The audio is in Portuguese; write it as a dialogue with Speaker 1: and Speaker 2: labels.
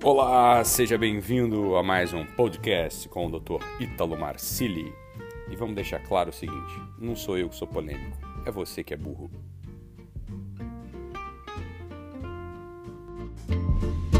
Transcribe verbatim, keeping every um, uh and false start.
Speaker 1: Olá, seja bem-vindo a mais um podcast com o doutor Ítalo Marcilli. E vamos deixar claro o seguinte, não sou eu que sou polêmico, é você que é burro.